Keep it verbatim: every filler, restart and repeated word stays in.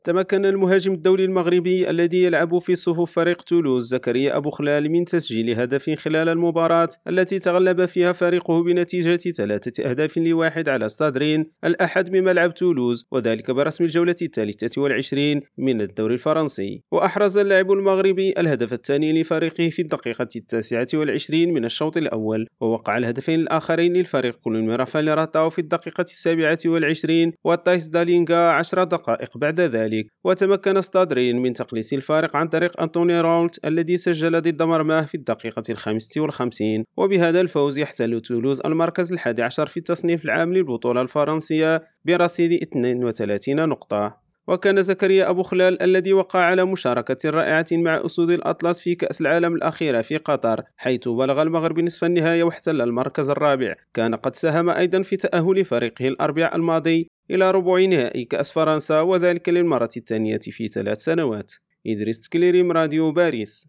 تمكن المهاجم الدولي المغربي الذي يلعب في صفوف فريق تولوز زكريا أبو خلال من تسجيل هدف خلال المباراة التي تغلب فيها فريقه بنتيجة ثلاثة أهداف لواحد على ستادرين الأحد بملعب تولوز، وذلك برسم الجولة الثالثة والعشرين من الدوري الفرنسي. وأحرز اللاعب المغربي الهدف الثاني لفريقه في الدقيقة التاسعة والعشرين من الشوط الأول، ووقع الهدفين الآخرين للفريق كل من رافائيل راتاو في الدقيقة السابعة والعشرين وتايس دالينغا عشر دقائق بعد ذلك. وتمكن ستادرين من تقليص الفارق عن طريق أنتوني رولت الذي سجل ضد مرماه في الدقيقة الخامسة والخمسين. وبهذا الفوز يحتل تولوز المركز الحادي عشر في التصنيف العام للبطولة الفرنسية برصيد اثنين وثلاثين نقطة. وكان زكريا أبو خلال الذي وقع على مشاركة رائعة مع أسود الأطلس في كأس العالم الأخيرة في قطر، حيث بلغ المغرب نصف النهائي واحتل المركز الرابع. كان قد ساهم أيضا في تأهل فريقه الأربعاء الماضي إلى ربع نهائي كأس فرنسا، وذلك للمرة الثانية في ثلاث سنوات. إدريس تكليريم، راديو باريس.